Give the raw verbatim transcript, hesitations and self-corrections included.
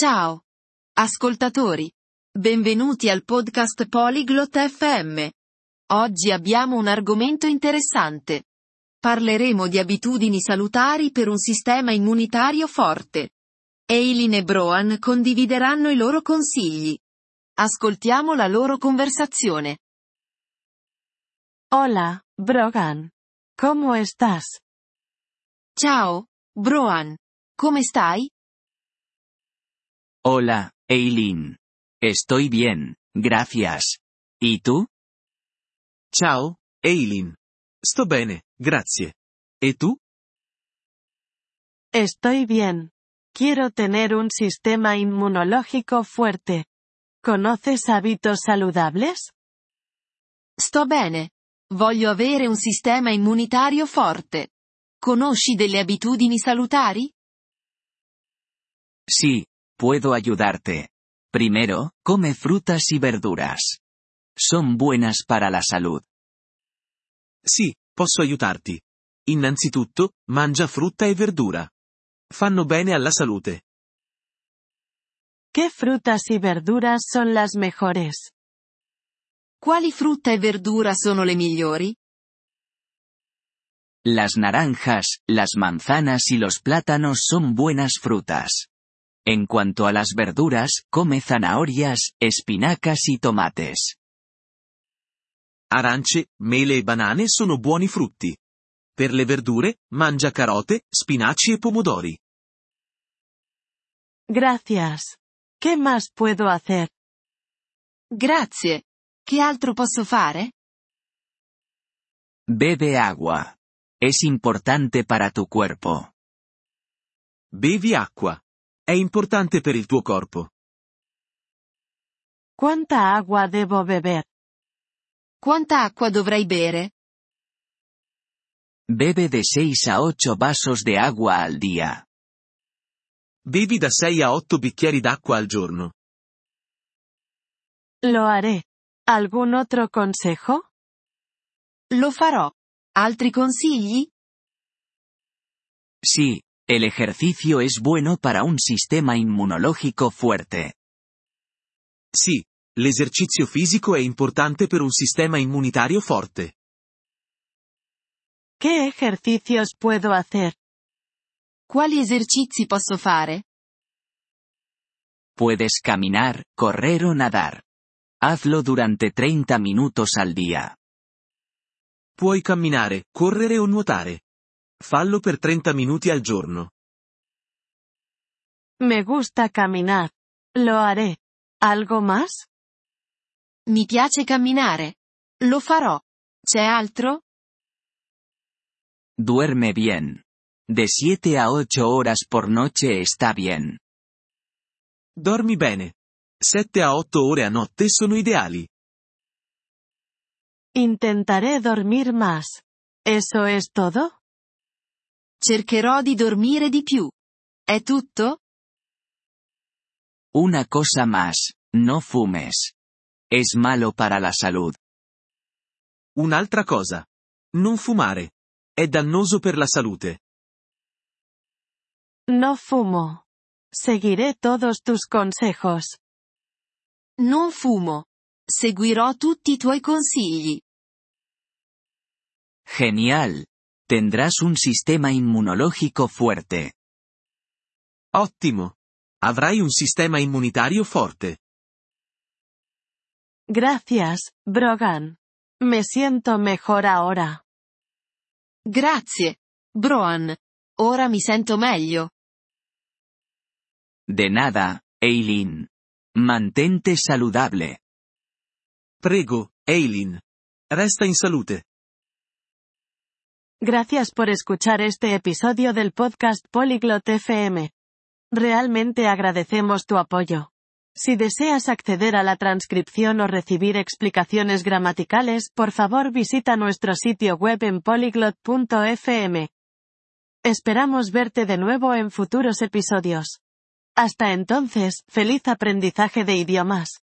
Ciao, ascoltatori. Benvenuti al podcast Polyglot F M. Oggi abbiamo un argomento interessante. Parleremo di abitudini salutari per un sistema immunitario forte. Eileen e Broan condivideranno i loro consigli. Ascoltiamo la loro conversazione. Hola, Brogan. ¿Cómo estás? Ciao, Broan. Come stai? Hola, Eileen. Estoy bien, gracias. ¿Y tú? Ciao, Eileen. Sto bene, grazie. ¿E tu? Estoy bien. Quiero tener un sistema inmunológico fuerte. ¿Conoces hábitos saludables? Sto bene. Voglio avere un sistema immunitario forte. Conosci delle abitudini salutari? Sí, puedo ayudarte. Primero, come frutas y verduras. Son buenas para la salud. Sì, posso aiutarti. Innanzitutto, mangia frutta e verdura. Fanno bene alla salute. ¿Qué frutas y verduras son las mejores? Quali frutta e verdura sono le migliori? Las naranjas, las manzanas y los plátanos son buenas frutas. En cuanto a las verduras, come zanahorias, espinacas y tomates. Arance, mele e banane sono buoni frutti. Per le verdure, mangia carote, spinaci e pomodori. Gracias. ¿Qué más puedo hacer? Grazie. Che altro posso fare? Bebe agua. Es importante para tu cuerpo. Bevi acqua. È importante per il tuo corpo. ¿Cuánta agua debo beber? Quanta acqua dovrei bere? Bebe de seis a ocho vasos de agua al día. Bevi da sei a otto bicchieri d'acqua al giorno. Lo haré. ¿Algún otro consejo? Lo farò. Altri consigli? Sí, el ejercicio es bueno para un sistema inmunológico fuerte. Sì, l'esercizio fisico è importante per un sistema immunitario forte. ¿Qué ejercicios puedo hacer? Quali esercizi posso fare? Puedes caminar, correr o nadar. Hazlo durante treinta minutos al día. Puoi camminare, correre o nuotare. Fallo per trenta minuti al giorno. Me gusta caminar. Lo haré. ¿Algo más? Mi piace camminare. Lo farò. C'è altro? Duerme bien. De siete a ocho horas por noche está bien. Dormi bene. sette a otto ore a notte sono ideali. Intentaré dormir más. ¿Eso es todo? Cercherò di dormire di più. È tutto? Una cosa más, no fumes. Es malo para la salud. Un'altra cosa. Non fumare. È dannoso per la salute. No fumo. Seguiré todos tus consejos. Non fumo. Seguirò tutti i tuoi consigli. Genial. Tendrás un sistema inmunológico fuerte. Ottimo. Avrai un sistema immunitario forte. Gracias, Brogan. Me siento mejor ahora. Grazie, Broan. Ora mi sento meglio. De nada, Eileen. Mantente saludable. Prego, Eileen. Resta in salute. Gracias por escuchar este episodio del podcast Polyglot F M. Realmente agradecemos tu apoyo. Si deseas acceder a la transcripción o recibir explicaciones gramaticales, por favor visita nuestro sitio web en polyglot punto f m. Esperamos verte de nuevo en futuros episodios. Hasta entonces, feliz aprendizaje de idiomas.